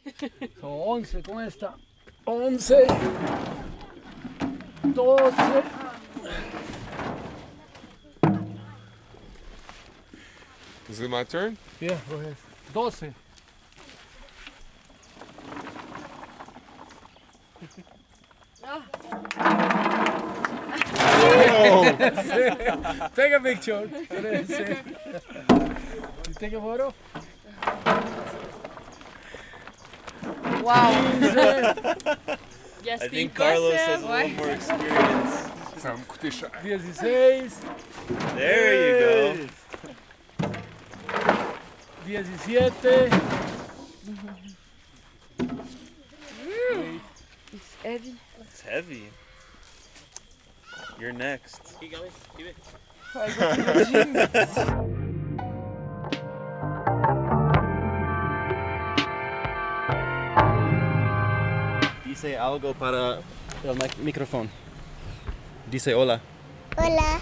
Son 11 con esta. 11. 12. Is it my turn? Yeah, go ahead. 12. Take a picture. You take a photo? Wow. I think Carlos has a little more experience. Ça va me coûter cher. 16. There you go. 17. It's heavy. It's heavy. You're next. Keep going. Keep it. I go to the gym. Dice algo para el micrófono. Dice hola. Hola.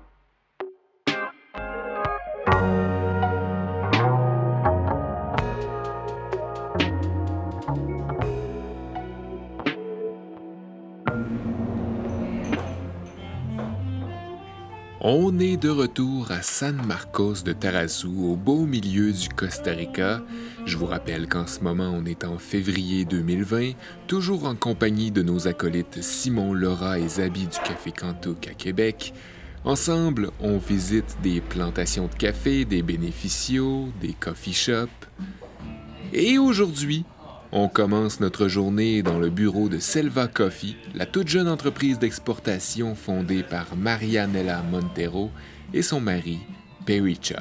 On est de retour à San Marcos de Tarazu, au beau milieu du Costa Rica. Je vous rappelle qu'en ce moment, on est en février 2020, toujours en compagnie de nos acolytes Simon, Laura et Zabi du Café Cantouk à Québec. Ensemble, on visite des plantations de café, des bénéficios, des coffee shops. Et aujourd'hui, on commence notre journée dans le bureau de Selva Coffee, la toute jeune entreprise d'exportation fondée par Marianela Montero et son mari, Perry Chop.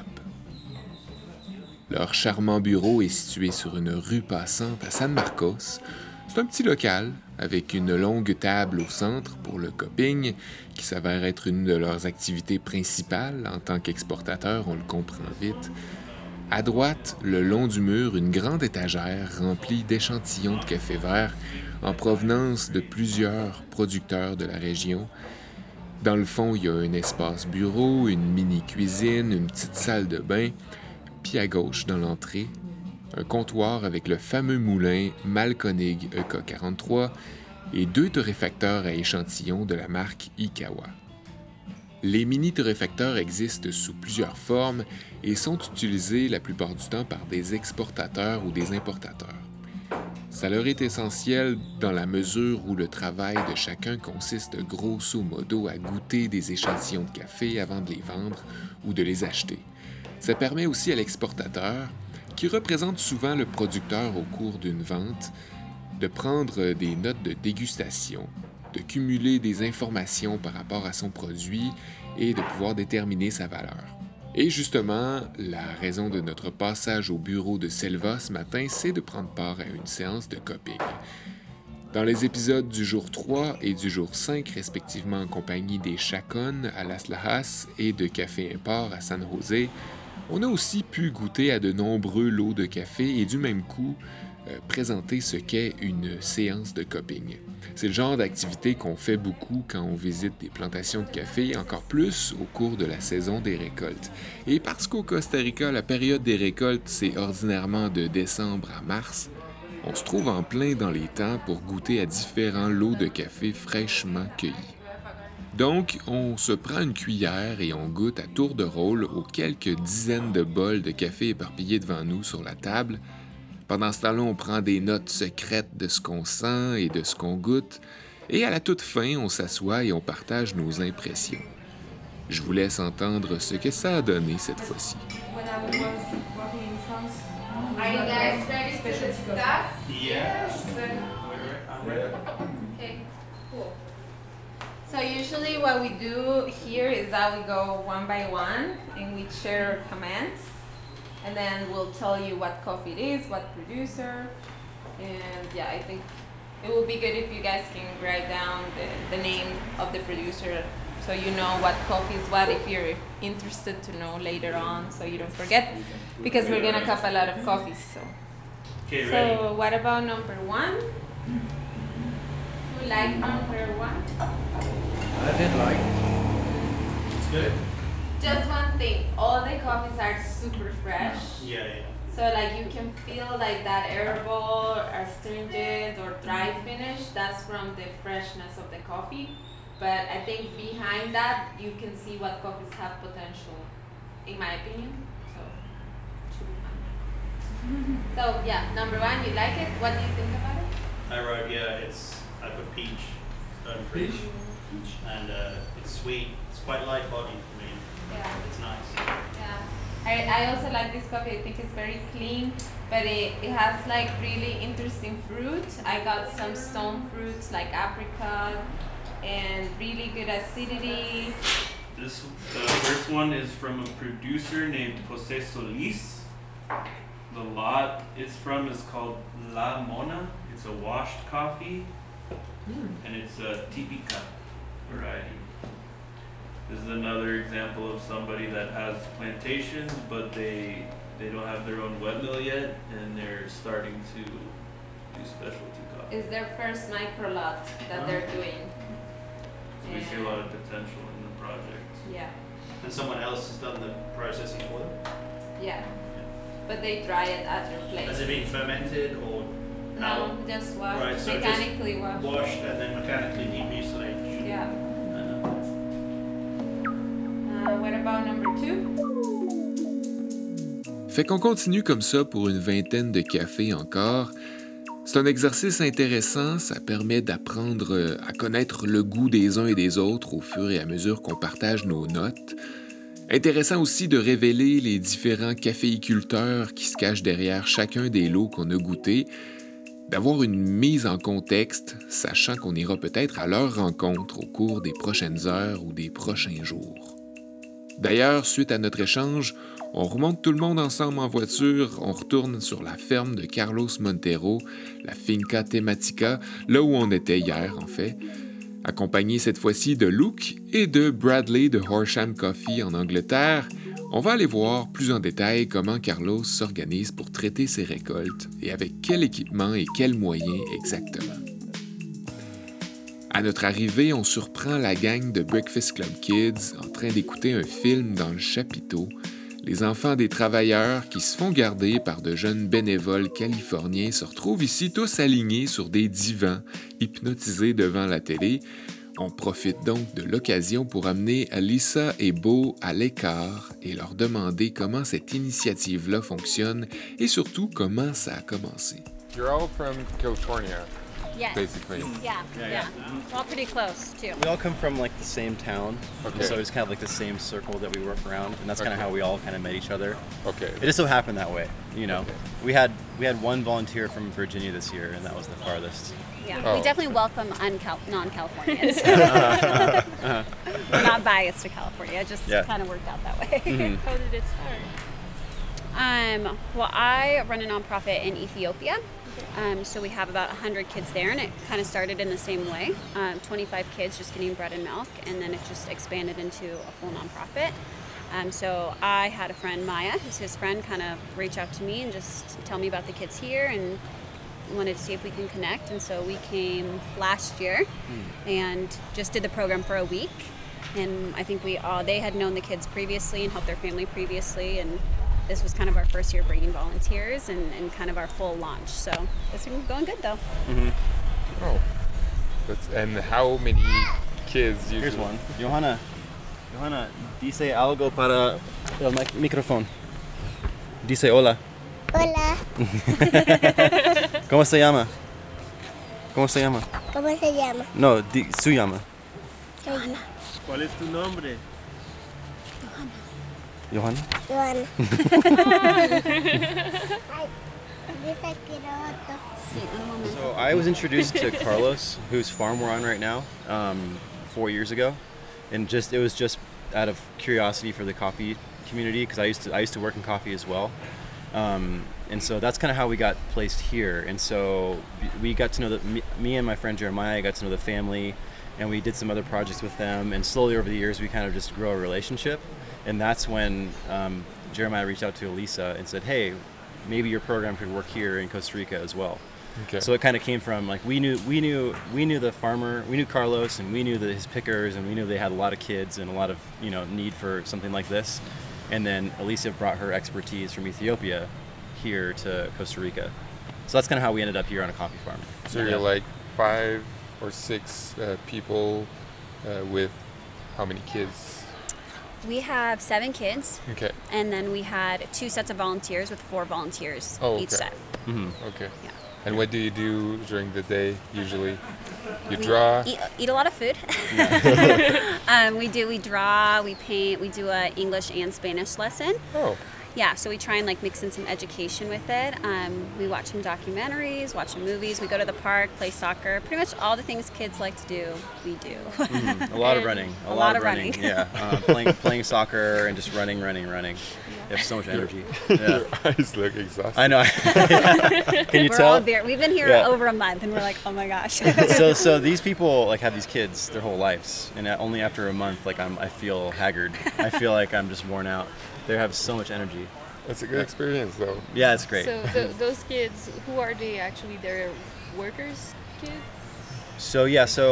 Leur charmant bureau est situé sur une rue passante à San Marcos. C'est un petit local avec une longue table au centre pour le cupping, qui s'avère être une de leurs activités principales en tant qu'exportateur, on le comprend vite. À droite, le long du mur, une grande étagère remplie d'échantillons de café vert en provenance de plusieurs producteurs de la région. Dans le fond, il y a un espace bureau, une mini-cuisine, une petite salle de bain, puis à gauche, dans l'entrée, un comptoir avec le fameux moulin Mahlkönig EK43 et 2 torréfacteurs à échantillons de la marque Ikawa. Les mini-torréfacteurs existent sous plusieurs formes et sont utilisés la plupart du temps par des exportateurs ou des importateurs. Ça leur est essentiel dans la mesure où le travail de chacun consiste grosso modo à goûter des échantillons de café avant de les vendre ou de les acheter. Ça permet aussi à l'exportateur, qui représente souvent le producteur au cours d'une vente, de prendre des notes de dégustation, de cumuler des informations par rapport à son produit et de pouvoir déterminer sa valeur. Et justement, la raison de notre passage au bureau de Selva ce matin, c'est de prendre part à une séance de cupping. Dans les épisodes du jour 3 et du jour 5, respectivement en compagnie des Chacon à Las Lajas et de Café Import à San José, on a aussi pu goûter à de nombreux lots de café et du même coup, présenter ce qu'est une séance de cupping. C'est le genre d'activité qu'on fait beaucoup quand on visite des plantations de café, encore plus au cours de la saison des récoltes. Et parce qu'au Costa Rica, la période des récoltes, c'est ordinairement de décembre à mars, on se trouve en plein dans les temps pour goûter à différents lots de café fraîchement cueillis. Donc, on se prend une cuillère et on goûte à tour de rôle aux quelques dizaines de bols de café éparpillés devant nous sur la table. Pendant ce temps-là, on prend des notes secrètes de ce qu'on sent et de ce qu'on goûte. Et à la toute fin, on s'assoit et on partage nos impressions. Je vous laisse entendre ce que ça a donné cette fois-ci. Are you guys ready for the stuff? Yes. Okay, cool. So usually what we do here is that we go one by one and we share comments. And then we'll tell you what coffee it is, what producer. And yeah, I think it would be good if you guys can write down the name of the producer so you know what coffee is what if you're interested to know later on so you don't forget because we're gonna cup a lot of coffees. Okay, So ready? what about number 1? Who like number 1? I did like. It's good? Just one thing, all the coffees are super fresh. Yeah. So like you can feel like that herbal, astringent, or dry finish. That's from the freshness of the coffee. But I think behind that, you can see what coffees have potential, in my opinion. So, it should be fun. So yeah, number one, you like it? What do you think about it? I wrote, I put peach, stone fruit, and it's sweet. It's quite light bodied for me. Yeah. It's nice. Yeah. I also like this coffee. I think it's very clean, but it has like really interesting fruit. I got some stone fruits like apricot and really good acidity. The first one is from a producer named Jose Solis. The lot it's from is called La Mona. It's a washed coffee, and it's a Típica variety. This is another example of somebody that has plantations, but they don't have their own wet mill yet, and they're starting to do specialty coffee. It's their first micro lot that they're doing. So we see a lot of potential in the project. Yeah, And someone else has done the processing for them? yeah. But they dry it at their place. Has it been fermented or No, just wash. Right, so just Mechanically wash. washed and then mechanically demucilaged? Yeah. What about number 2? Fait qu'on continue comme ça pour une vingtaine de cafés encore. C'est un exercice intéressant, ça permet d'apprendre à connaître le goût des uns et des autres au fur et à mesure qu'on partage nos notes. Intéressant aussi de révéler les différents caféiculteurs qui se cachent derrière chacun des lots qu'on a goûtés, d'avoir une mise en contexte, sachant qu'on ira peut-être à leur rencontre au cours des prochaines heures ou des prochains jours. D'ailleurs, suite à notre échange, on remonte tout le monde ensemble en voiture, on retourne sur la ferme de Carlos Montero, la Finca Tematica, là où on était hier en fait, accompagné cette fois-ci de Luke et de Bradley de Horsham Coffee en Angleterre. On va aller voir plus en détail comment Carlos s'organise pour traiter ses récoltes et avec quel équipement et quels moyens exactement. À notre arrivée, on surprend la gang de Breakfast Club Kids en train d'écouter un film dans le chapiteau, les enfants des travailleurs qui se font garder par de jeunes bénévoles californiens se retrouvent ici tous alignés sur des divans, hypnotisés devant la télé. On profite donc de l'occasion pour amener Alyssa et Beau à l'écart et leur demander comment cette initiative-là fonctionne et surtout comment ça a commencé. You're all from California, Yes. basically. Yeah. We're all pretty close too. We all come from like the same town, Okay. so it's kind of like the same circle that we work around, and that's kind of Okay. how we all kind of met each other. Okay. It just so happened that way, you know. We had one volunteer from Virginia this year, and that was the farthest. Yeah. Oh. We definitely welcome non-Californians. Not biased to California. It just Yeah. kind of worked out that way. How did it start? Well, I run a nonprofit in Ethiopia. So we have about 100 kids there, and it kind of started in the same way. 25 kids just getting bread and milk, and then it just expanded into a full nonprofit. So I had a friend, Maya, who's his friend, kind of reach out to me and just tell me about the kids here and wanted to see if we can connect. And so we came last year and just did the program for a week. And I think they had known the kids previously and helped their family previously. And this was kind of our first year bringing volunteers and kind of our full launch. So it's been going good though. Oh. And how many kids usually? Here's one. Johanna, dice algo para el micrófono. Dice hola. Hola, ¿Cómo se llama? ¿Cómo se llama? ¿cómo se llama? No, su llama. Soy ¿Cuál es tu nombre? Johanna? Joana. Ay, dice Quiroto. So I was introduced to Carlos, whose farm we're on right now, 4 years ago, and it was just out of curiosity for the coffee community because I used to work in coffee as well, and so that's kind of how we got placed here. And so we got to know me and my friend Jeremiah got to know the family, and we did some other projects with them. And slowly over the years, we kind of just grow a relationship, and that's when Jeremiah reached out to Elisa and said, "Hey, maybe your program could work here in Costa Rica as well." Okay. So it kind of came from like we knew the farmer, we knew Carlos, and we knew his pickers, and we knew they had a lot of kids and a lot of need for something like this. And then Elisa brought her expertise from Ethiopia here to Costa Rica. So that's kind of how we ended up here on a coffee farm. So you're like 5 or 6 people with how many kids? We have 7 kids, Okay. and then we had 2 sets of volunteers with 4 volunteers Oh, each okay. set. Okay. Yeah. And what do you do during the day usually? You We draw? eat a lot of food. We draw, we paint, we do a English and Spanish lesson. Oh, Yeah, so we try and like mix in some education with it. We watch some documentaries, watch some movies. We go to the park, play soccer. Pretty much all the things kids like to do, we do. A lot of running. A lot of running. Yeah. Playing soccer and just running. You have so much energy. Yeah. your eyes look exhausted. I know. Can you We're tell? all we've been here Yeah. over a month, and we're like, oh my gosh. So these people like have these kids their whole lives, and only after a month, like I feel haggard. I feel like I'm just worn out. They have so much energy. It's a good experience though. Yeah, it's great. So those kids, who are they actually? They're workers' kids? So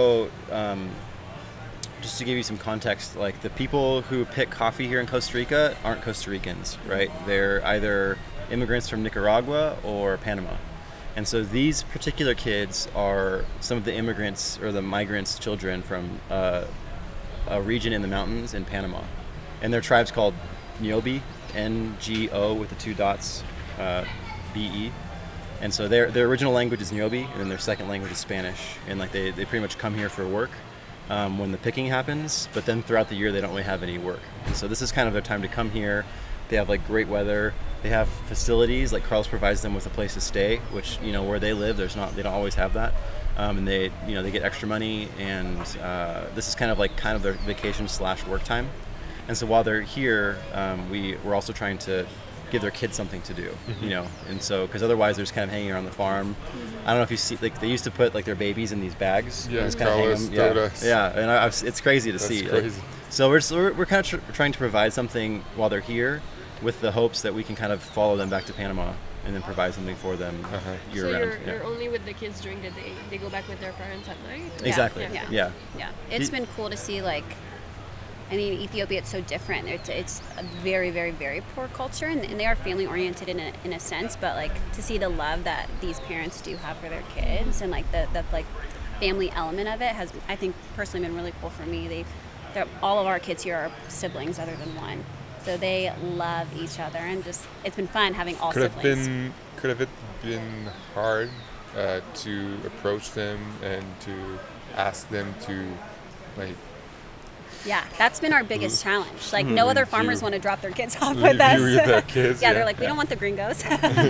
just to give you some context, like the people who pick coffee here in Costa Rica aren't Costa Ricans, right? They're either immigrants from Nicaragua or Panama. And so these particular kids are some of the immigrants or the migrants' children from a region in the mountains in Panama. And their tribe's called Niobe, N-G-O with the 2 dots, B-E. And so their original language is Niobe, and then their second language is Spanish. And like they pretty much come here for work when the picking happens, but then throughout the year they don't really have any work. And so this is kind of their time to come here. They have like great weather. They have facilities, like Carlos provides them with a place to stay, which where they live, they don't always have that. And they get extra money, and this is kind of their vacation / work time. And so while they're here, we're also trying to give their kids something to do, and so because otherwise they're just kind of hanging around the farm. I don't know if you see, like they used to put like their babies in these bags. Yeah, and just kind of hang Carlos them. told us. Yeah, and it's crazy to That's see. crazy. So we're kind of trying to provide something while they're here, with the hopes that we can kind of follow them back to Panama and then provide something for them year So round. you're only with the kids during the day. They go back with their parents at night? Exactly. Yeah. It's been cool to see, like, I mean, Ethiopia, it's so different. It's a very, very, very poor culture, and they are family oriented in a sense, but like to see the love that these parents do have for their kids, and like the like family element of it has, I think, personally been really cool for me. All of our kids here are siblings other than one, so they love each other, and just it's been fun having all siblings. Could have it been hard to approach them and to ask them to like? Yeah, that's been our biggest challenge. Like, no other farmers want to drop their kids off Leave with us. you with their kids, yeah, yeah. they're like, we don't want the gringos.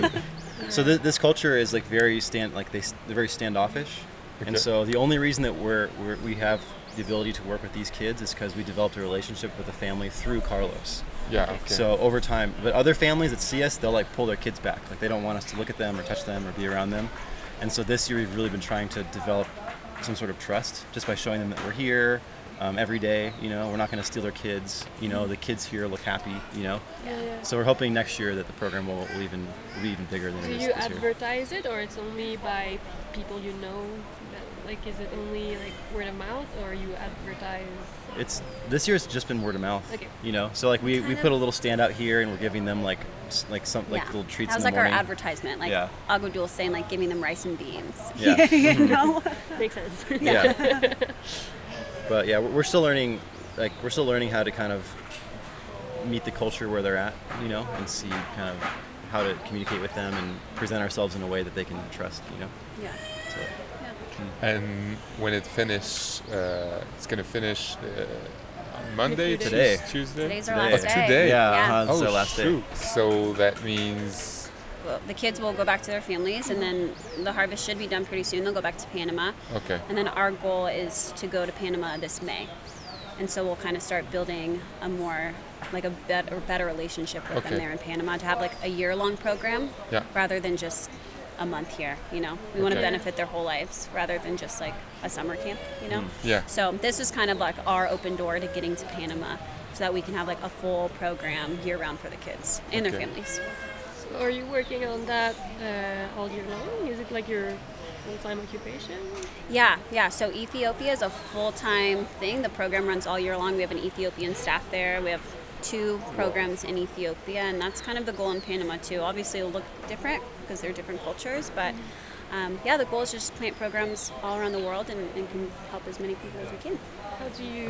So this culture is like they're very standoffish, and Okay. so the only reason that we have the ability to work with these kids is because we developed a relationship with the family through Carlos. Yeah. Okay. So over time, but other families that see us, they'll like pull their kids back. Like they don't want us to look at them or touch them or be around them. And so this year we've really been trying to develop some sort of trust just by showing them that we're here every day. We're not going to steal their kids. The kids here look happy. Yeah. So we're hoping next year that the program will be even bigger than Do it is you this year. advertise it, or it's only by people you know? Like, is it only like word of mouth, or you advertise? This year it's just been word of mouth. Okay. So like we put a little stand out here, and we're giving them like some little treats That was in the like morning. our advertisement. Like Agudul saying, like, giving them rice and beans. Yeah. Makes sense. Yeah. But yeah, we're still learning. Like we're still learning how to kind of meet the culture where they're at, and see kind of how to communicate with them and present ourselves in a way that they can trust, Yeah. So, And when it finishes, it's gonna finish on Monday, Today. Tuesday. Today's our Today. last day. Today. Yeah. This is Oh our last day. shoot! So that means Well, the kids will go back to their families, and then the harvest should be done pretty soon. They'll go back to Panama. okay. And then our goal is to go to Panama this May. And so we'll kind of start building a more, like a better relationship with Okay. them there in Panama, to have like a year-long program Yeah. rather than just a month here, We want to Okay. benefit their whole lives rather than just like a summer camp, Yeah. So this is kind of like our open door to getting to Panama, so that we can have like a full program year-round for the kids and their Okay. families. So are you working on that all year long? Is it like your full-time occupation? Yeah. So Ethiopia is a full-time thing. The program runs all year long. We have an Ethiopian staff there. We have 2 programs in Ethiopia, and that's kind of the goal in Panama too. Obviously it'll look different because they're different cultures, but yeah, the goal is just plant programs all around the world and can help as many people as we can. How do you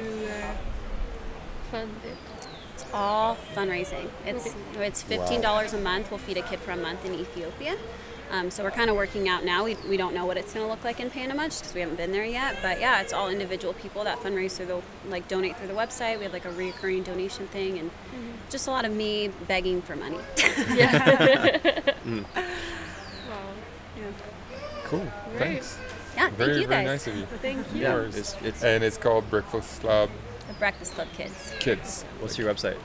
fund it? It's all fundraising. It's $15 a month. We'll feed a kid for a month in Ethiopia. So we're kind of working out now. We don't know what it's going to look like in Panama just because we haven't been there yet. But yeah, it's all individual people that fundraise through donate through the website. We have like a recurring donation thing and just a lot of me begging for money. Yeah. Wow. Cool. Thanks. Yeah, Very, thank you very guys. nice of you. Thank you. Yeah, Yours. it's And it's called Breakfast Club The Breakfast Club Kids. Kids. what's your website?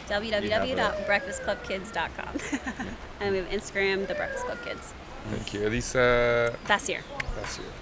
www.breakfastclubkids.com. And we have Instagram, The Breakfast Club Kids. Thank you. Elisa. That's here. That's you.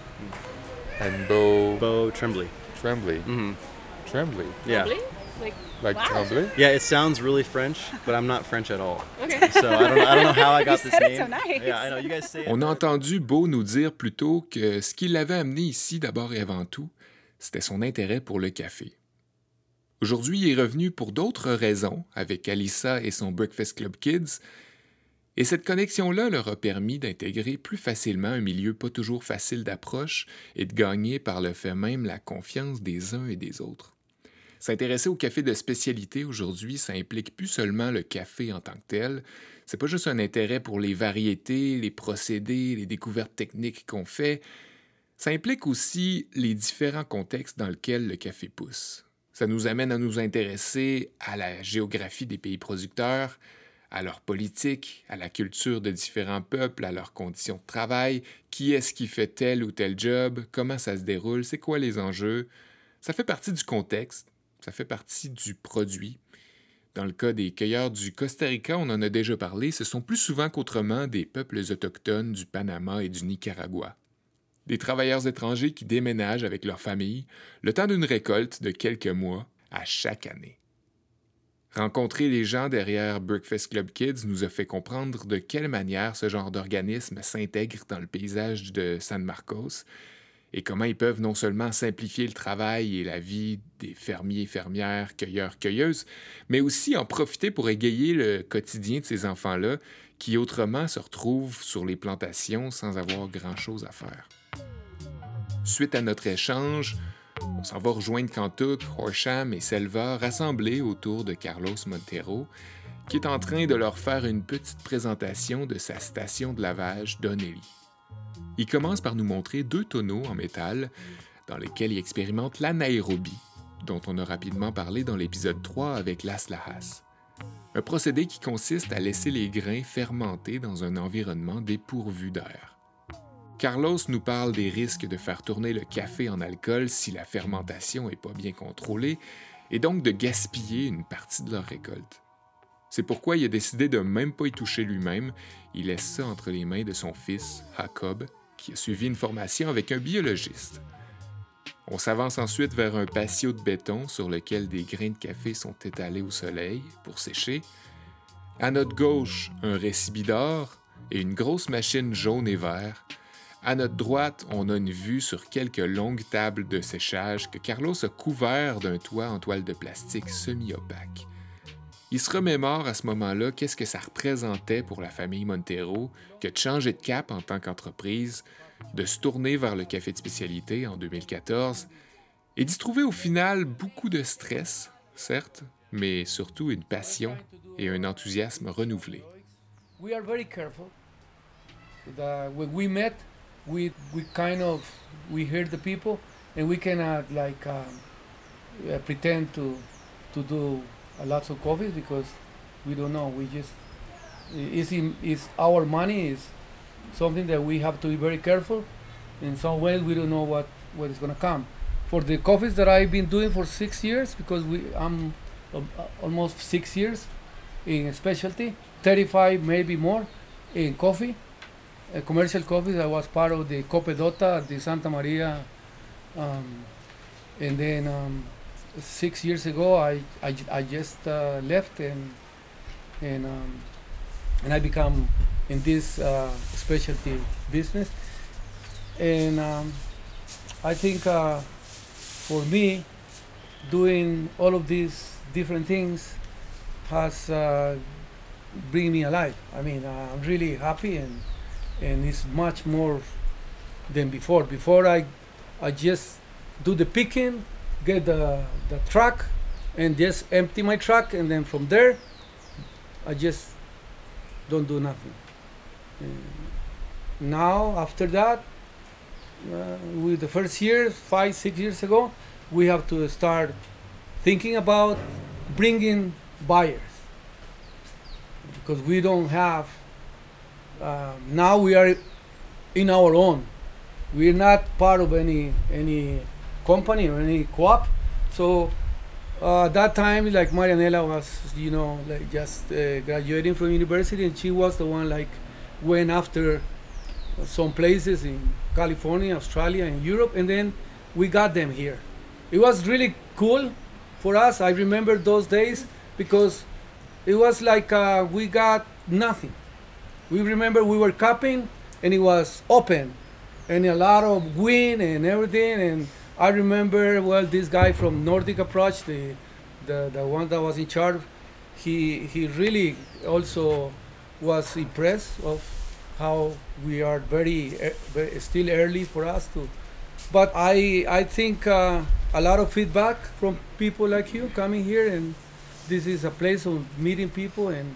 And Bo Tremblay. Tremblay. Mm-hmm. Tremblay. Yeah. Probably? Like Wow. Tremblay? Yeah, it sounds really French, but I'm not French at all. Okay. So I don't know how I got You this said it name. so nice. Yeah, I know you guys say it. On a entendu Beau nous dire plus tôt que ce qui l'avait amené ici d'abord et avant tout, c'était son intérêt pour le café. Aujourd'hui, il est revenu pour d'autres raisons avec Alyssa et son Breakfast Club Kids, et cette connexion-là leur a permis d'intégrer plus facilement un milieu pas toujours facile d'approche et de gagner par le fait même la confiance des uns et des autres. S'intéresser au café de spécialité aujourd'hui, ça implique plus seulement le café en tant que tel. C'est pas juste un intérêt pour les variétés, les procédés, les découvertes techniques qu'on fait. Ça implique aussi les différents contextes dans lesquels le café pousse. Ça nous amène à nous intéresser à la géographie des pays producteurs, à leur politique, à la culture de différents peuples, à leurs conditions de travail, qui est-ce qui fait tel ou tel job, comment ça se déroule, c'est quoi les enjeux. Ça fait partie du contexte. Ça fait partie du produit. Dans le cas des cueilleurs du Costa Rica, on en a déjà parlé, ce sont plus souvent qu'autrement des peuples autochtones du Panama et du Nicaragua. Des travailleurs étrangers qui déménagent avec leur famille le temps d'une récolte de quelques mois à chaque année. Rencontrer les gens derrière Breakfast Club Kids nous a fait comprendre de quelle manière ce genre d'organisme s'intègre dans le paysage de San Marcos et comment ils peuvent non seulement simplifier le travail et la vie des fermiers, fermières, cueilleurs, cueilleuses, mais aussi en profiter pour égayer le quotidien de ces enfants-là qui autrement se retrouvent sur les plantations sans avoir grand-chose à faire. Suite à notre échange, on s'en va rejoindre Kantuk, Horsham et Selva rassemblés autour de Carlos Montero, qui est en train de leur faire une petite présentation de sa station de lavage Donnelly. Il commence par nous montrer 2 tonneaux en métal dans lesquels il expérimente l'anaérobie, dont on a rapidement parlé dans l'épisode 3 avec Las Lajas. Un procédé qui consiste à laisser les grains fermenter dans un environnement dépourvu d'air. Carlos nous parle des risques de faire tourner le café en alcool si la fermentation n'est pas bien contrôlée et donc de gaspiller une partie de leur récolte. C'est pourquoi il a décidé de même pas y toucher lui-même. Il laisse ça entre les mains de son fils, Jacob, qui a suivi une formation avec un biologiste. On s'avance ensuite vers un patio de béton sur lequel des grains de café sont étalés au soleil pour sécher. À notre gauche, un récipidor et une grosse machine jaune et vert. À notre droite, on a une vue sur quelques longues tables de séchage que Carlos a couvert d'un toit en toile de plastique semi-opaque. Il se remémore à ce moment-là qu'est-ce que ça représentait pour la famille Montero que de changer de cap en tant qu'entreprise, de se tourner vers le café de spécialité en 2014 et d'y trouver au final beaucoup de stress, certes, mais surtout une passion et un enthousiasme renouvelé. We are very careful. When we met, we heard the people, and we cannot pretend to do a lot of coffee because we don't know. We just it's our money is something that we have to be very careful. In some ways, we don't know what is going to come. For the coffees that I've been doing for 6 years, because I'm almost 6 years in specialty, 35 maybe more in coffee, commercial coffees. I was part of the Copedota, the Santa Maria, and then 6 years ago I just left and I become in this specialty business, and I think for me doing all of these different things has bring me alive. I mean, I'm really happy, and it's much more than before. Before I just do the picking, get the truck, and just empty my truck, and then from there, I just don't do nothing. Now, after that, with the first year, 5-6 years ago, we have to start thinking about bringing buyers, because we don't have. Now we are in our own. We're not part of any company or any co-op. So that time, like Marianela was, like just graduating from university, and she was the one like went after some places in California, Australia, and Europe, and then we got them here. It was really cool for us. I remember those days because it was like we got nothing. We remember we were cupping and it was open and a lot of wind and everything. And I remember, well, this guy from Nordic Approach, the one that was in charge, he really also was impressed of how we are very still early for us to. But I think a lot of feedback from people like you coming here, and this is a place of meeting people, and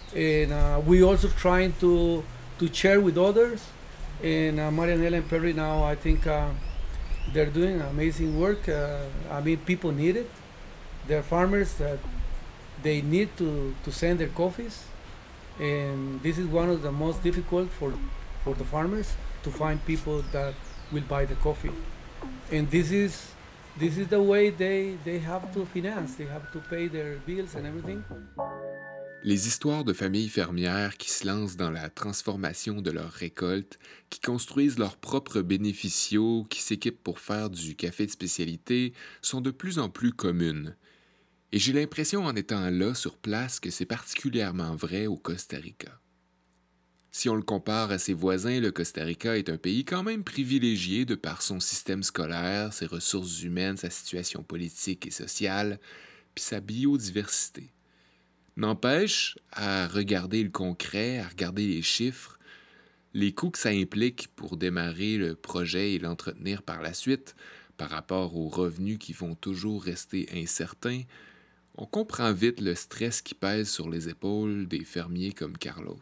we also trying to share with others. And Marianela and Perry now, I think they're doing amazing work. I mean, people need it. There are farmers that they need to send their coffees, and this is one of the most difficult for the farmers to find people that will buy the coffee. And this is the way they have to finance. They have to pay their bills and everything. Les histoires de familles fermières qui se lancent dans la transformation de leurs récoltes, qui construisent leurs propres bénéficiaux, qui s'équipent pour faire du café de spécialité, sont de plus en plus communes. Et j'ai l'impression en étant là sur place que c'est particulièrement vrai au Costa Rica. Si on le compare à ses voisins, le Costa Rica est un pays quand même privilégié de par son système scolaire, ses ressources humaines, sa situation politique et sociale, puis sa biodiversité. N'empêche, à regarder le concret, à regarder les chiffres, les coûts que ça implique pour démarrer le projet et l'entretenir par la suite, par rapport aux revenus qui vont toujours rester incertains, on comprend vite le stress qui pèse sur les épaules des fermiers comme Carlos.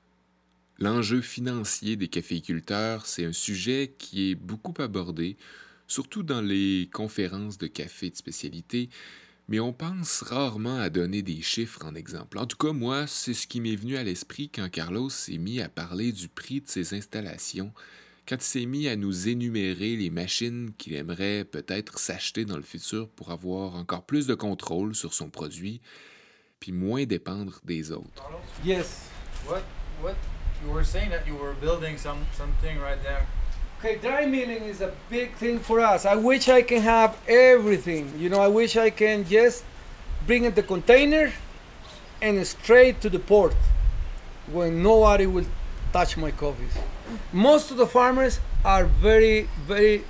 L'enjeu financier des caféiculteurs, c'est un sujet qui est beaucoup abordé, surtout dans les conférences de café de spécialité, mais on pense rarement à donner des chiffres en exemple. En tout cas, moi, c'est ce qui m'est venu à l'esprit quand Carlos s'est mis à parler du prix de ses installations, quand il s'est mis à nous énumérer les machines qu'il aimerait peut-être s'acheter dans le futur pour avoir encore plus de contrôle sur son produit, puis moins dépendre des autres. Yes. What? You were saying that you were building something right there. Okay, dry milling is a big thing for us. I wish I can have everything. I wish I can just bring in the container and straight to the port when nobody will touch my coffees. Most of the farmers are very, very,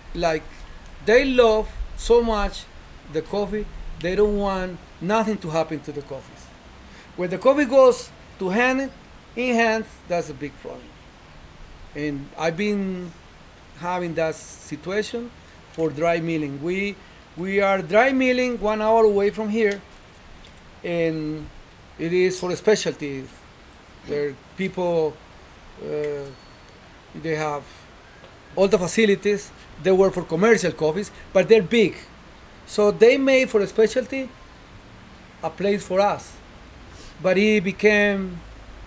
they love so much the coffee, they don't want nothing to happen to the coffees. When the coffee goes to in hand, that's a big problem. And I've been having that situation for dry milling. We are dry milling 1 hour away from here, and it is for specialty. Where people, they have all the facilities. They work for commercial coffees, but they're big. So they made for a specialty a place for us. But it became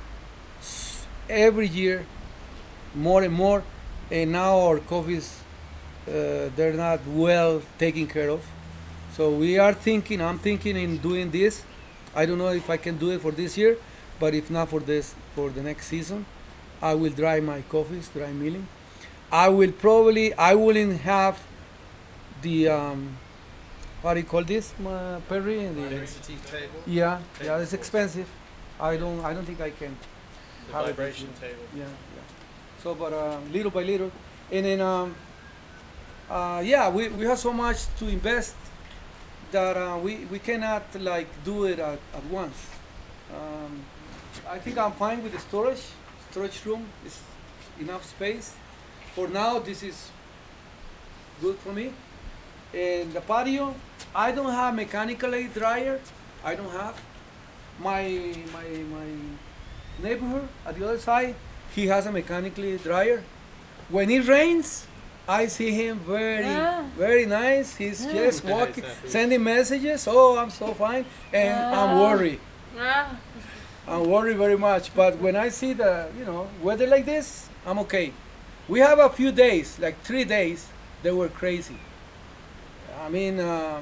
every year more and more, and now our coffees they're not well taken care of. So I'm thinking in doing this. I don't know if I can do it for this year, but if not for the next season, I will dry my coffees, dry milling. I wouldn't have the what do you call this, Perry? The Density table. Yeah, it's expensive. I don't think I can. The vibration table. Yeah. So, but little by little, and then we have so much to invest that we cannot like do it at once. I think I'm fine with the storage room is enough space. For now, this is good for me. And the patio, I don't have mechanical dryer. I don't have. My neighbor at the other side, he has a mechanically dryer. When it rains, I see him very nice. He's just walking, sending messages. Oh, I'm so fine, and I'm worried. I'm worried very much. But when I see the weather like this, I'm okay. We have a few days, like 3 days, they were crazy. I mean,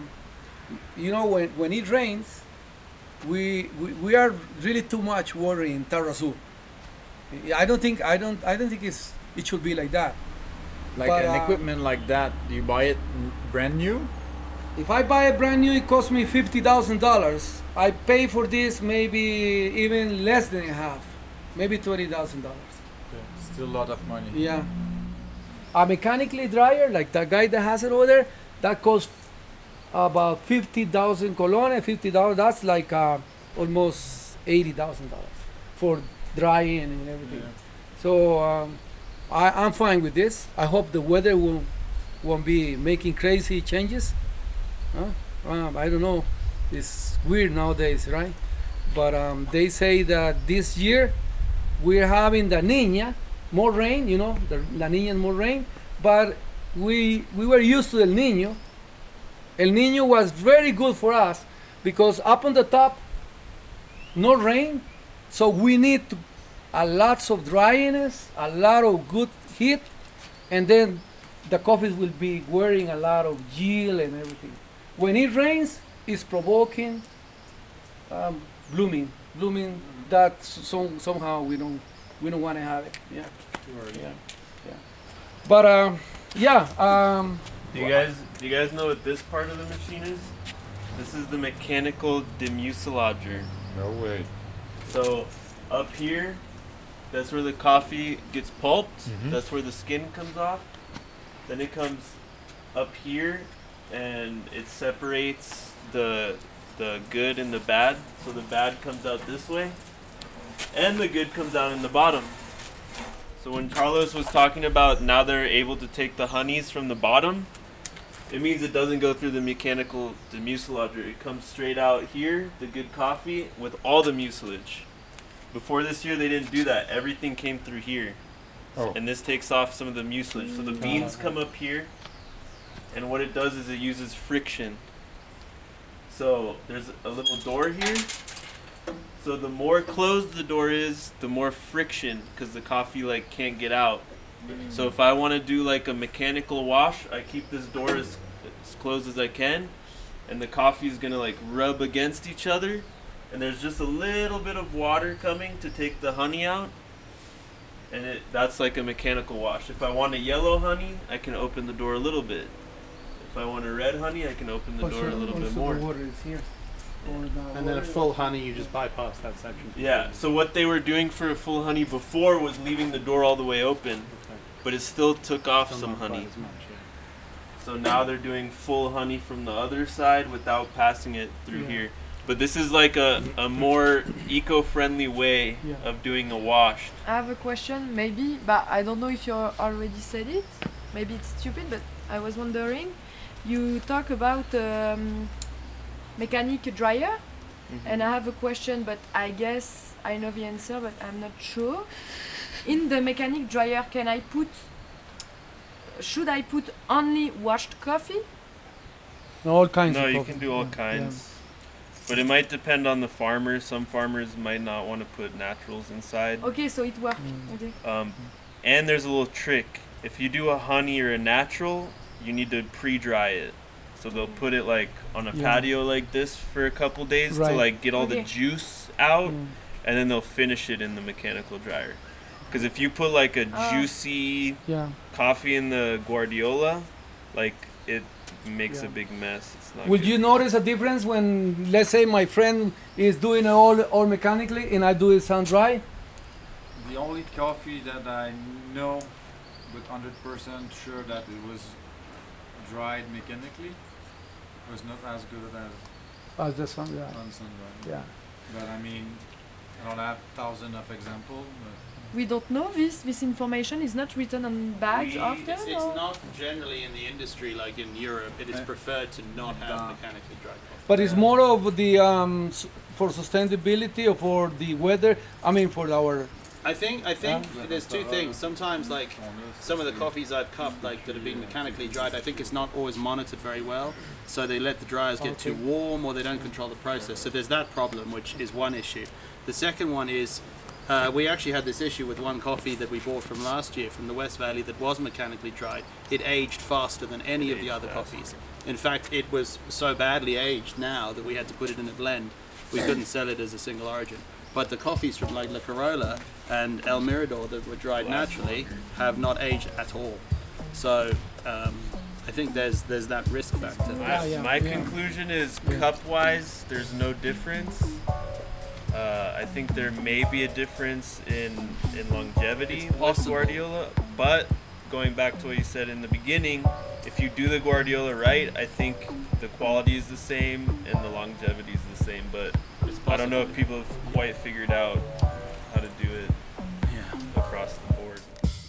when it rains, we are really too much worried in Tarrazú. I don't think it should be like that. Like But, an equipment like that, do you buy it brand new? If I buy it brand new, it costs me $50,000. I pay for this maybe even less than half, maybe $20,000. Still a lot of money. Yeah. A mechanically dryer, like that guy that has it over there, that costs about 50,000 colones, $50. That's like almost $80,000 for drying and everything. Yeah. So I'm fine with this. I hope the weather won't be making crazy changes. I don't know. It's weird nowadays, right? But they say that this year we're having the Niña, more rain. The La Niña more rain. But we were used to El Niño. El Niño was very good for us because up on the top, no rain, so we need a lots of dryness, a lot of good heat, and then the coffee will be wearing a lot of yield and everything. When it rains, it's provoking blooming. That somehow we don't want to have it. Yeah. But Do you guys know what this part of the machine is? This is the mechanical demuselager. No way. So up here, that's where the coffee gets pulped. Mhm. That's where the skin comes off. Then it comes up here and it separates the good and the bad. So the bad comes out this way and the good comes out in the bottom. So when Carlos was talking about now they're able to take the honeys from the bottom, it means it doesn't go through the mechanical demuselager. It comes straight out here, the good coffee, with all the mucilage. Before this year, they didn't do that. Everything came through here. Oh. And this takes off some of the mucilage. So the beans come up here, and what it does is it uses friction. So there's a little door here. So the more closed the door is, the more friction, because the coffee can't get out. So if I want to do like a mechanical wash, I keep this door as closed as I can, and the coffee is gonna rub against each other, and there's just a little bit of water coming to take the honey out, and that's like a mechanical wash. If I want a yellow honey, I can open the door a little bit. If I want a red honey, I can open the door a little bit more. The water is here. And then a full honey, you just bypass that section. Yeah, so what they were doing for a full honey before was leaving the door all the way open, but it still took off some honey. So now they're doing full honey from the other side without passing it through here. But this is like a more eco-friendly way of doing a wash. I have a question, maybe, but I don't know if you already said it. Maybe it's stupid, but I was wondering. You talk about mechanic dryer, and I have a question, but I guess I know the answer, but I'm not sure. In the mechanic dryer, should I put only washed coffee? All kinds No, of you coffee. can do all kinds. But it might depend on the farmer. Some farmers might not want to put naturals inside. Okay, so it works. Okay. And there's a little trick. If you do a honey or a natural, you need to pre-dry it. So they'll put it on a patio like this for a couple days to get all the juice out, and then they'll finish it in the mechanical dryer. Because if you put a juicy coffee in the Guardiola, it makes a big mess. It's not Would good. you notice a difference when, let's say, my friend is doing it all mechanically and I do it sun dry? The only coffee that I know with 100% sure that it was dried mechanically was not as good as As the sun, yeah. on sun-dried. Yeah. But I mean, I don't have thousands of examples. We don't know this. This information is not written on bags often. It's or? not generally in the industry like in Europe. It is preferred to not have mechanically dried coffee. But it's more of the for sustainability or for the weather. I mean, for our. I think there's two things. Sometimes like some of the coffees I've cupped like that have been mechanically dried, I think it's not always monitored very well. So they let the dryers get too warm or they don't control the process. So there's that problem, which is one issue. The second one is we actually had this issue with one coffee that we bought from last year from the West Valley that was mechanically dried. It aged faster than any of the other coffees. In fact, it was so badly aged now that we had to put it in a blend. We couldn't sell it as a single origin. But the coffees from like La Corolla and El Mirador that were dried naturally have not aged at all. So I think there's that risk factor. My conclusion is cup-wise, there's no difference. I think there may be a difference in longevity with Guardiola, but going back to what you said in the beginning, if you do the Guardiola right, I think the quality is the same and the longevity is the same, but I don't know if people have quite figured out how to do it across the board.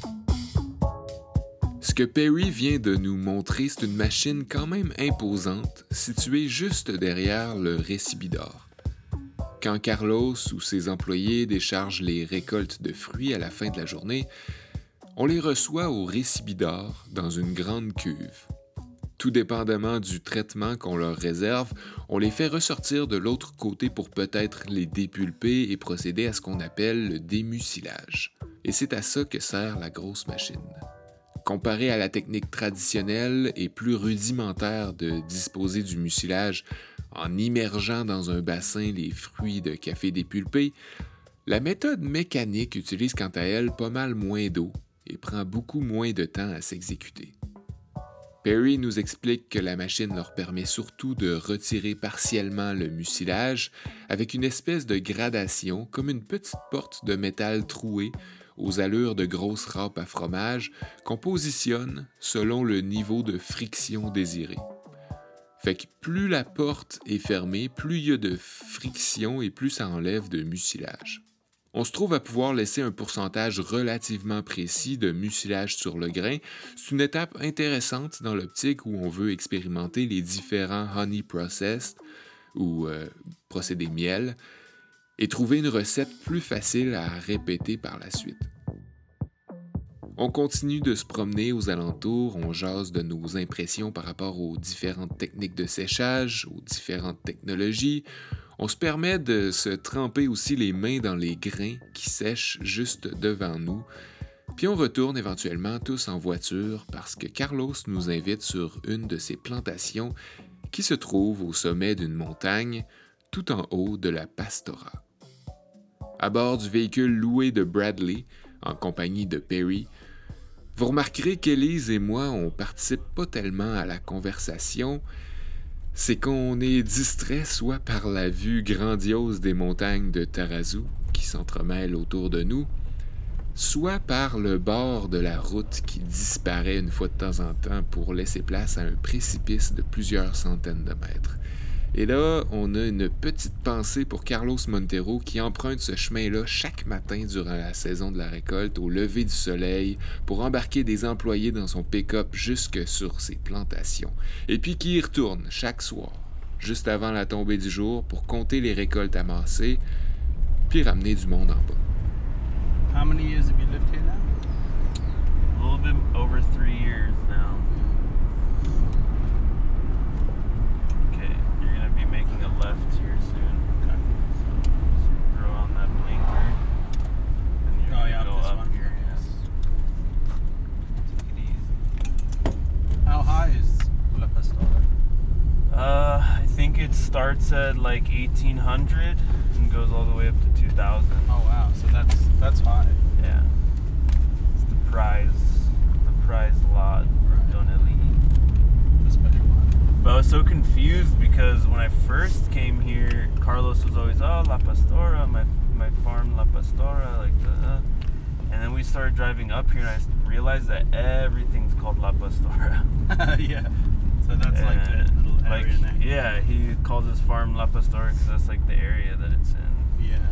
Ce que Perry vient de nous montrer, c'est une machine quand même imposante, située juste derrière le récibidor. Quand Carlos ou ses employés déchargent les récoltes de fruits à la fin de la journée, on les reçoit au récibidor dans une grande cuve. Tout dépendamment du traitement qu'on leur réserve, on les fait ressortir de l'autre côté pour peut-être les dépulper et procéder à ce qu'on appelle le démucilage. Et c'est à ça que sert la grosse machine. Comparé à la technique traditionnelle et plus rudimentaire de disposer du mucilage en immergeant dans un bassin les fruits de café dépulpés, la méthode mécanique utilise quant à elle pas mal moins d'eau et prend beaucoup moins de temps à s'exécuter. Perry nous explique que la machine leur permet surtout de retirer partiellement le mucilage avec une espèce de gradation comme une petite porte de métal trouée aux allures de grosses râpes à fromage qu'on positionne selon le niveau de friction désiré. Fait que plus la porte est fermée, plus il y a de friction et plus ça enlève de mucilage. On se trouve à pouvoir laisser un pourcentage relativement précis de mucilage sur le grain. C'est une étape intéressante dans l'optique où on veut expérimenter les différents honey processed ou procédés miel et trouver une recette plus facile à répéter par la suite. On continue de se promener aux alentours, on jase de nos impressions par rapport aux différentes techniques de séchage, aux différentes technologies. On se permet de se tremper aussi les mains dans les grains qui sèchent juste devant nous. Puis on retourne éventuellement tous en voiture parce que Carlos nous invite sur une de ses plantations qui se trouve au sommet d'une montagne tout en haut de la Pastora. À bord du véhicule loué de Bradley, en compagnie de Perry, vous remarquerez qu'Élise et moi, on participe pas tellement à la conversation. C'est qu'on est distrait soit par la vue grandiose des montagnes de Tarazu qui s'entremêlent autour de nous, soit par le bord de la route qui disparaît une fois de temps en temps pour laisser place à un précipice de plusieurs centaines de mètres. Et là, on a une petite pensée pour Carlos Montero qui emprunte ce chemin-là chaque matin durant la saison de la récolte au lever du soleil pour embarquer des employés dans son pick-up jusque sur ses plantations. Et puis qui y retourne chaque soir, juste avant la tombée du jour pour compter les récoltes amassées, puis ramener du monde en bas. How many years have you lived here now? A little bit over 3 years now. Making a left here soon. Okay. So just throw on that blinker and you're gonna go up here. Yes. Take it easy. How high is La Pastora? I think it starts at like 1800 and goes all the way up to 2000. Oh wow, so that's high. Yeah. It's the prize lot of Donelli. The special one. But I was so confused because when I first came here, Carlos was always, oh, La Pastora, my farm La Pastora, like the, and then we started driving up here and I realized that everything's called La Pastora. Yeah. So that's like the little area like, name. yeah, he calls his farm La Pastora because that's like the area that it's in. Yeah.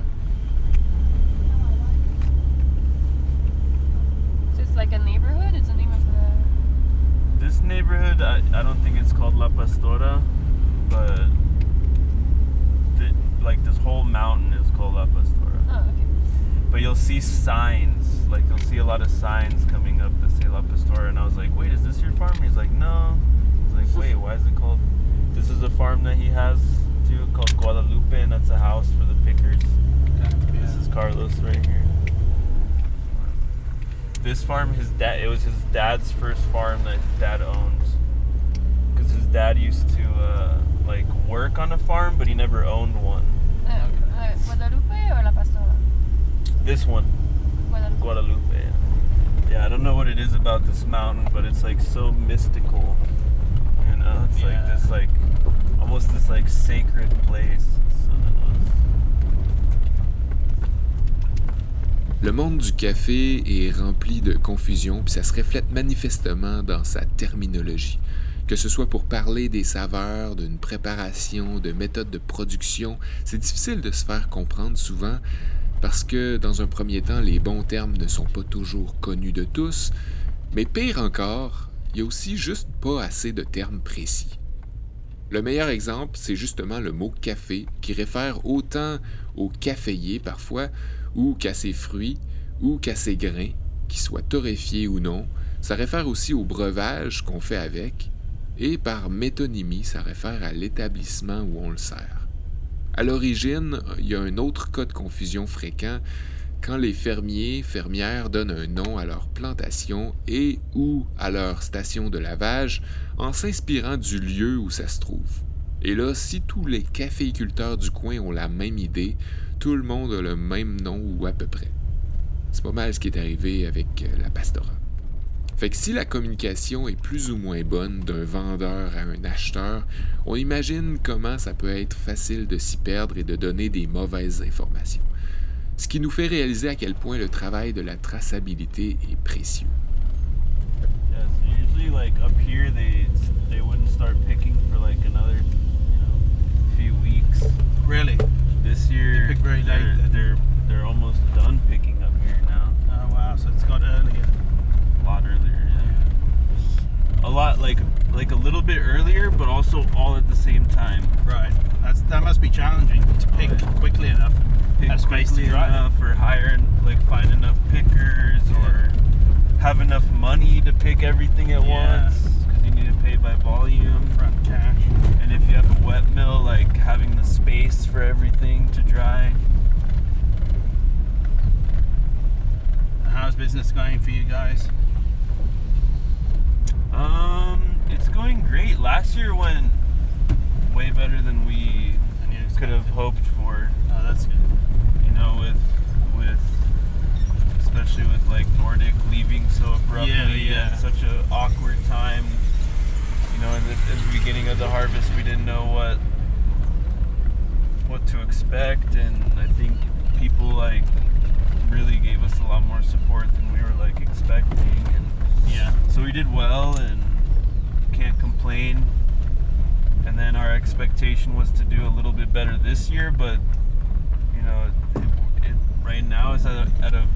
So it's like a neighborhood? It's the name of the... This neighborhood, I don't think it's called La Pastora, but like this whole mountain is called La Pastora. Oh, okay. But you'll see signs, like you'll see a lot of signs coming up that say La Pastora, and I was like, wait, is this your farm? He's like, no. I was like, wait, why is it called? This is a farm that he has too, called Guadalupe, and that's a house for the pickers. This is Carlos right here. This farm, it was his dad's first farm that his dad owned. Because his dad used to like work on a farm, but he never owned one. Guadalupe or La Pastora? This one. Guadalupe. Yeah, I don't know what it is about this mountain, but it's like so mystical. You know, it's like this like almost this like sacred place. It's so nice. Le monde du café est rempli de confusion, puis ça se reflète manifestement dans sa terminologie. Que ce soit pour parler des saveurs, d'une préparation, de méthodes de production, c'est difficile de se faire comprendre souvent parce que, dans un premier temps, les bons termes ne sont pas toujours connus de tous, mais pire encore, il y a aussi juste pas assez de termes précis. Le meilleur exemple, c'est justement le mot « café » qui réfère autant au caféier parfois, ou qu'à ses fruits, ou qu'à ses grains, qu'ils soient torréfiés ou non. Ça réfère aussi au breuvage qu'on fait avec, et par métonymie, ça réfère à l'établissement où on le sert. À l'origine, il y a un autre cas de confusion fréquent quand les fermières donnent un nom à leur plantation et ou à leur station de lavage en s'inspirant du lieu où ça se trouve. Et là, si tous les caféiculteurs du coin ont la même idée, tout le monde a le même nom ou à peu près. C'est pas mal ce qui est arrivé avec la Pastora. Fait que si la communication est plus ou moins bonne d'un vendeur à un acheteur, on imagine comment ça peut être facile de s'y perdre et de donner des mauvaises informations. Ce qui nous fait réaliser à quel point le travail de la traçabilité est précieux. Yeah, so usually like up here they wouldn't start picking for like another, few weeks. Really? This year They pick very late, they're almost done picking up here now. Oh wow, so it's got earlier. A lot earlier, yeah. A lot like a little bit earlier, but also all at the same time. Right. That must be challenging to pick quickly enough. Pick Have space to quickly dry. enough, or hire, like find enough pickers, or have enough money to pick everything at once, because you need to pay by volume. Front cash. And if you have a wet mill, like having the space for everything to dry. How's business going for you guys? It's going great. Last year went way better than we could have hoped for. Oh, that's good. You know, with especially with like Nordic leaving so abruptly at such an awkward time. You know, at the beginning of the harvest, we didn't know what to expect, and I think people like really gave us a lot more support than we were like expecting, and so we did well and can't complain. And then our expectation was to do a little bit better this year, but you know, it right now is at a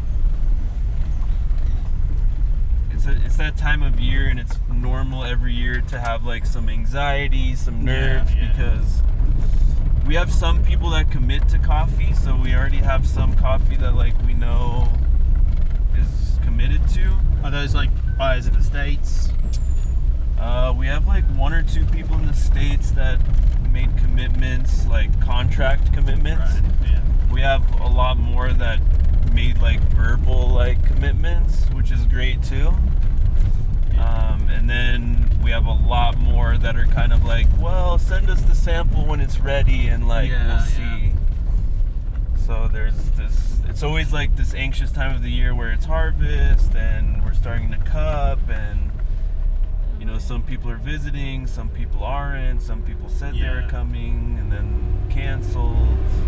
it's that time of year, and it's normal every year to have like some anxiety, some nerves, because we have some people that commit to coffee, so we already have some coffee that like we know is committed to. Are those like buyers in the States? We have like one or two people in the States that made commitments, like contract commitments. Right, yeah. We have a lot more that made like verbal like commitments, which is great too. And then we have a lot more that are kind of like, well, send us the sample when it's ready, and like we'll see. So there's this, it's always like this anxious time of the year where it's harvest and we're starting to cup, and you know, some people are visiting, some people aren't, some people said they were coming and then canceled.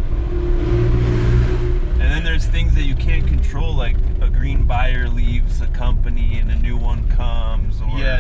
And then there's things that you can't control, like a green buyer leaves a company and a new one comes, or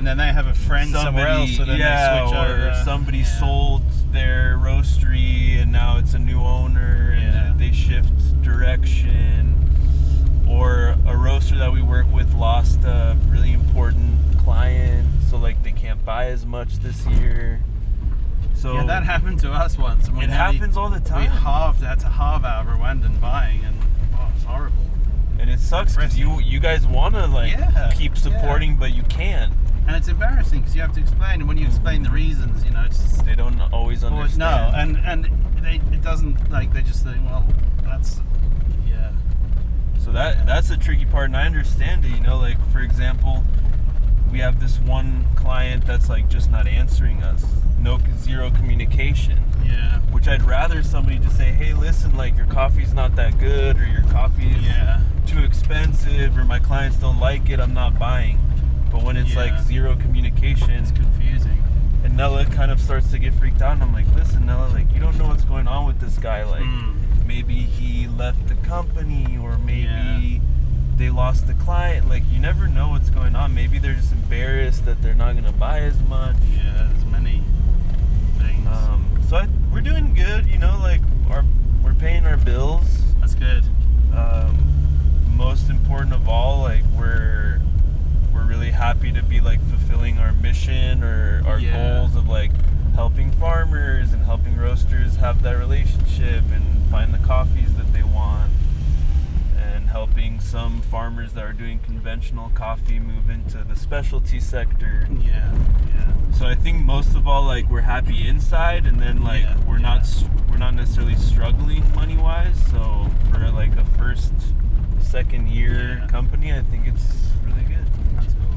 and then they have a friend somewhere else, so then they switch or over. somebody sold their roastery and now it's a new owner and they shift direction. Or a roaster that we work with lost a really important client, so like they can't buy as much this year. So yeah, that happened to us once. It happens all the time. We had to halve our Rwandan buying, and it's horrible. And it sucks because you guys want to keep supporting, but you can't. And it's embarrassing because you have to explain, and when you explain the reasons, it's just, they don't always understand. No, and it doesn't, they just think, well, that's So that's the tricky part, and I understand it. For example, we have this one client that's just not answering us. Zero communication. Yeah. Which I'd rather somebody just say, hey, listen, your coffee's not that good, or your coffee is too expensive, or my clients don't like it, I'm not buying. But when it's zero communication, it's confusing. And Nella kind of starts to get freaked out, and I'm like, listen, Nella, you don't know what's going on with this guy. Maybe he left the company, or maybe they lost the client. You never know what's going on. Maybe they're just embarrassed that they're not going to buy as much. Yeah, there's many things. We're doing good, we're paying our bills. That's good. Most important of all, we're really happy to be fulfilling our mission or our goals of helping farmers and helping roasters have that relationship and find the coffees that they want, and helping some farmers that are doing conventional coffee move into the specialty sector. So I think most of all, we're happy inside, and then we're not necessarily struggling money wise. So for a second year company, I think it's really good. That's cool.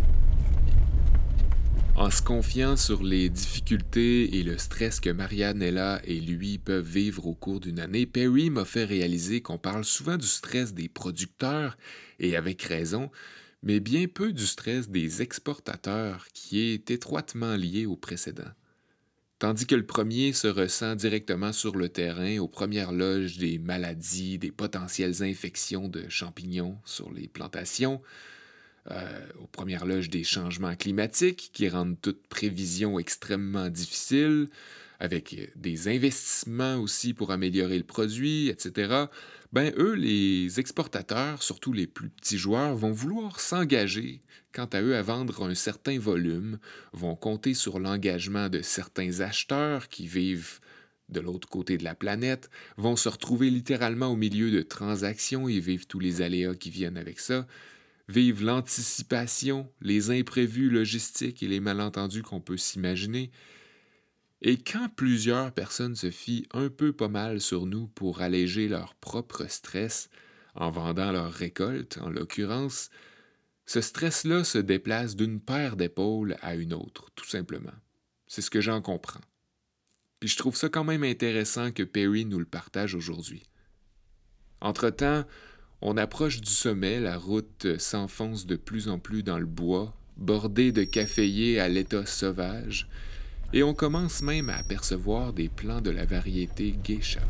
En se confiant sur les difficultés et le stress que Marianella et lui peuvent vivre au cours d'une année, Perry m'a fait réaliser qu'on parle souvent du stress des producteurs, et avec raison, mais bien peu du stress des exportateurs, qui est étroitement lié au précédent. Tandis que le premier se ressent directement sur le terrain, aux premières loges des maladies, des potentielles infections de champignons sur les plantations, aux premières loges des changements climatiques qui rendent toute prévision extrêmement difficile, avec des investissements aussi pour améliorer le produit, etc., eux, les exportateurs, surtout les plus petits joueurs, vont vouloir s'engager quant à eux à vendre un certain volume, vont compter sur l'engagement de certains acheteurs qui vivent de l'autre côté de la planète, vont se retrouver littéralement au milieu de transactions et vivent tous les aléas qui viennent avec ça, vivent l'anticipation, les imprévus logistiques et les malentendus qu'on peut s'imaginer. Et quand plusieurs personnes se fient un peu pas mal sur nous pour alléger leur propre stress, en vendant leur récolte, en l'occurrence, ce stress-là se déplace d'une paire d'épaules à une autre, tout simplement. C'est ce que j'en comprends. Puis je trouve ça quand même intéressant que Perry nous le partage aujourd'hui. Entre-temps, on approche du sommet, la route s'enfonce de plus en plus dans le bois, bordée de caféiers à l'état sauvage, et on commence même à apercevoir des plants de la variété geisha.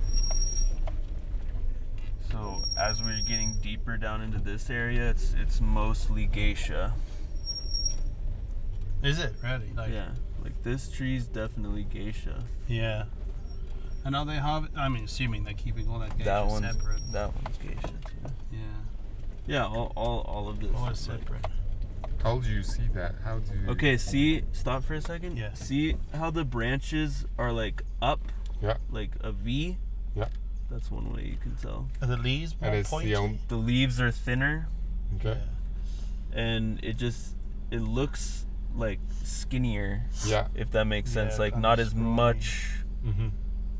So as we're getting deeper down into this area, it's mostly geisha. Is it really? Yeah, this tree's definitely geisha. Yeah. And are they assuming they're keeping all that geisha separate. That one's geisha too. Yeah. Yeah, all of this. All is separate. How do you see that? How do you... Okay, stop for a second. Yeah. See how the branches are up? Yeah. Like a V? Yeah. That's one way you can tell. Are the leaves more pointy? The leaves are thinner. Okay. And it looks skinnier. Yeah. If that makes sense. Not as much. Mm-hmm.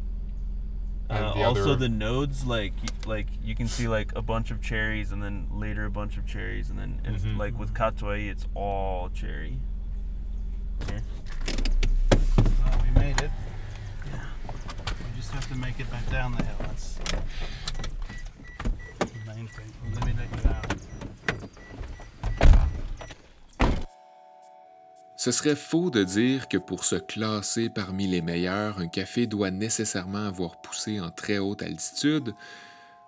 Also the nodes, you can see a bunch of cherries, and then later a bunch of cherries, and then it's with Katuai, it's all cherry. Here. Well, we made it. Yeah. We just have to make it back down the hill. That's the main thing. Let me let you down. Ce serait faux de dire que pour se classer parmi les meilleurs, un café doit nécessairement avoir poussé en très haute altitude,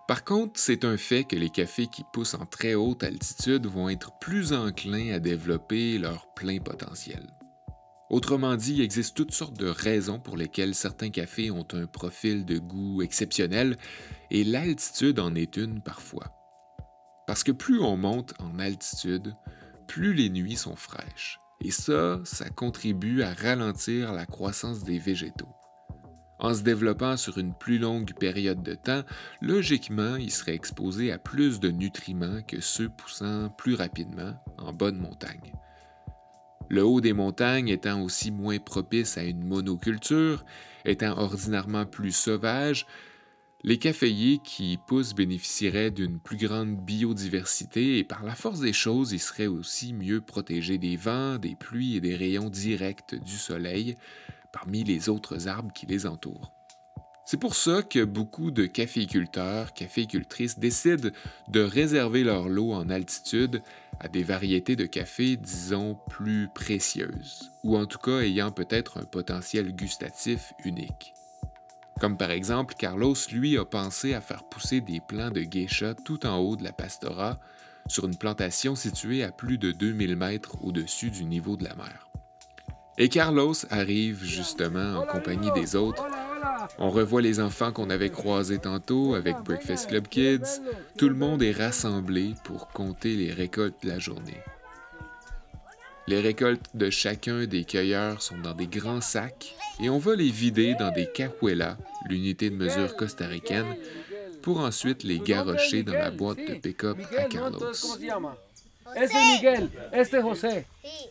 Par contre, c'est un fait que les cafés qui poussent en très haute altitude vont être plus enclins à développer leur plein potentiel. Autrement dit, il existe toutes sortes de raisons pour lesquelles certains cafés ont un profil de goût exceptionnel, et l'altitude en est une parfois. Parce que plus on monte en altitude, plus les nuits sont fraîches, et ça contribue à ralentir la croissance des végétaux. En se développant sur une plus longue période de temps, logiquement, ils seraient exposés à plus de nutriments que ceux poussant plus rapidement en bas de montagne. Le haut des montagnes étant aussi moins propice à une monoculture, étant ordinairement plus sauvage, les caféiers qui y poussent bénéficieraient d'une plus grande biodiversité et par la force des choses, ils seraient aussi mieux protégés des vents, des pluies et des rayons directs du soleil parmi les autres arbres qui les entourent. C'est pour ça que beaucoup de caféiculteurs, caféicultrices décident de réserver leur lot en altitude à des variétés de café, disons, plus précieuses, ou en tout cas ayant peut-être un potentiel gustatif unique. Comme par exemple, Carlos, lui, a pensé à faire pousser des plants de geisha tout en haut de la Pastora, sur une plantation située à plus de 2000 mètres au-dessus du niveau de la mer. Et Carlos arrive justement en compagnie des autres. On revoit les enfants qu'on avait croisés tantôt avec Breakfast Club Kids. Tout le monde est rassemblé pour compter les récoltes de la journée. Les récoltes de chacun des cueilleurs sont dans des grands sacs et on va les vider dans des cajuelas, l'unité de mesure costaricaine, pour ensuite les garrocher dans la boîte de pick-up à Carlos. Este es Miguel, este es José.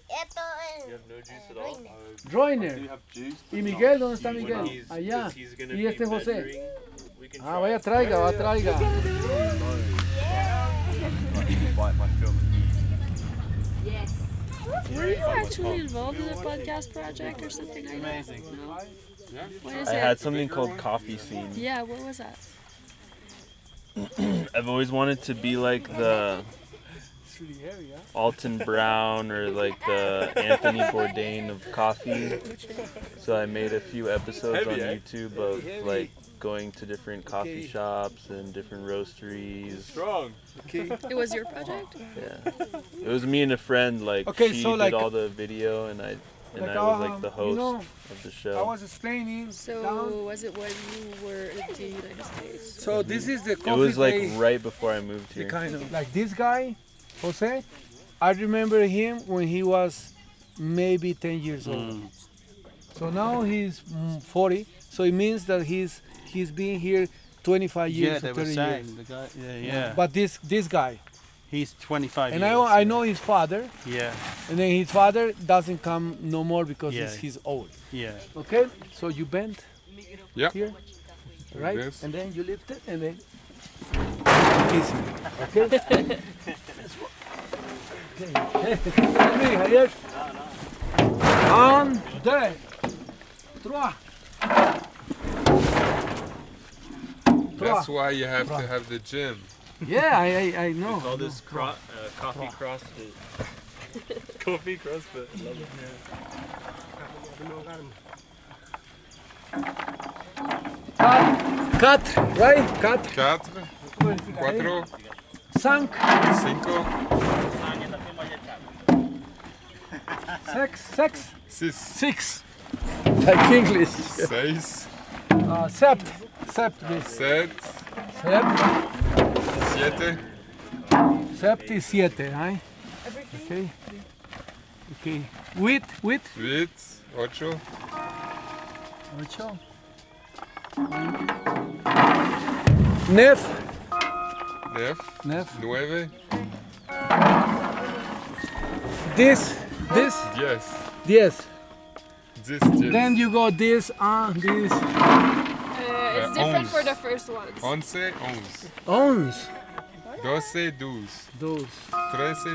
Joiner. ¿Y Miguel? ¿Dónde está Miguel? Allá. ¿Y este es José? Ah, vaya, traiga, traiga. Yes. Were you actually involved in a podcast project or something like that? Amazing. No? What is I it? had something called Coffee Scene. Yeah, what was that? I've always wanted to be like the Alton Brown or like the Anthony Bourdain of coffee. So I made a few episodes on YouTube of like going to different coffee shops and different roasteries. Strong. Okay. It was your project? Yeah. It was me and a friend, like Okay, she so did like- all the video and I was like the host of the show. I was explaining. So was it when you were in the United States? So this is the coffee. It was like they- right before I moved the here. kind of like this guy, Jose. I remember him when he was maybe 10 years old. So now he's 40. So it means that he's been here 25 years Yeah, or they 30 were saying years. the guy. Yeah. But this guy. He's 25 And years. I know his father. Yeah. And then his father doesn't come no more because Yeah. he's old. Yeah. Okay, so you bend Yeah. here, right? Yes. And then you lift it and then easy. Okay? Okay, Javier. 1, 2, 3. That's why you have to have the gym. Yeah, I know. We call this coffee CrossFit. Coffee CrossFit. I love it. 4, right? 4. 4, 4, 5. 5, 6. 6, 6. Like English. 6, Sept. This. 7, Sept. 7, Sept is 7, right? Okay. Okay. 8. 8, 8, 9. 9, 9. 9, 10. 10, 10. 10. Then you go this and this. It's different for the first ones. 11, 11. 11, 12, 12. 13,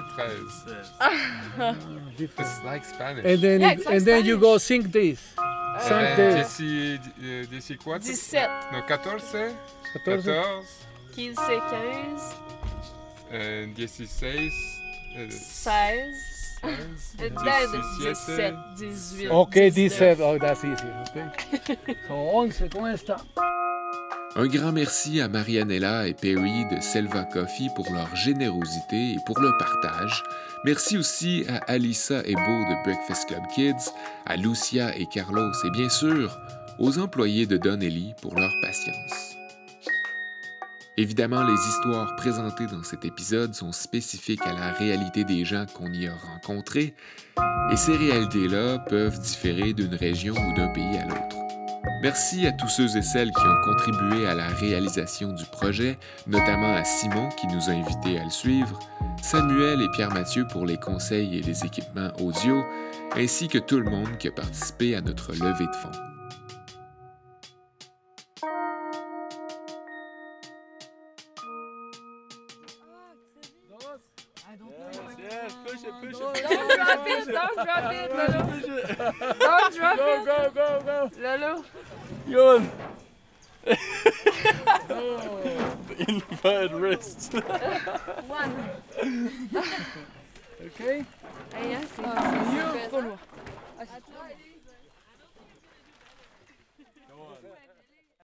13. It's like Spanish. And then Yeah, it's like and then you go sing this. Sing this. 14, 17. no, 14, 14. 14, 15, 15. and 16, 16. And then 17. 17, 18. Okay, 19. 17. Oh, that's easy. Okay. So 11 con esta. Un grand merci à Marianella et Perry de Selva Coffee pour leur générosité et pour le partage. Merci aussi à Alissa et Beau de Breakfast Club Kids, à Lucia et Carlos et bien sûr aux employés de Donnelly pour leur patience. Évidemment, les histoires présentées dans cet épisode sont spécifiques à la réalité des gens qu'on y a rencontrés, et ces réalités-là peuvent différer d'une région ou d'un pays à l'autre. Merci à tous ceux et celles qui ont contribué à la réalisation du projet, notamment à Simon qui nous a invités à le suivre, Samuel et Pierre-Mathieu pour les conseils et les équipements audio, ainsi que tout le monde qui a participé à notre levée de fonds. Don't drop it, Lolo. Don't drop it. Go. Lolo. Johan. Inverted wrists. One. Okay. Yes, Trop lourd.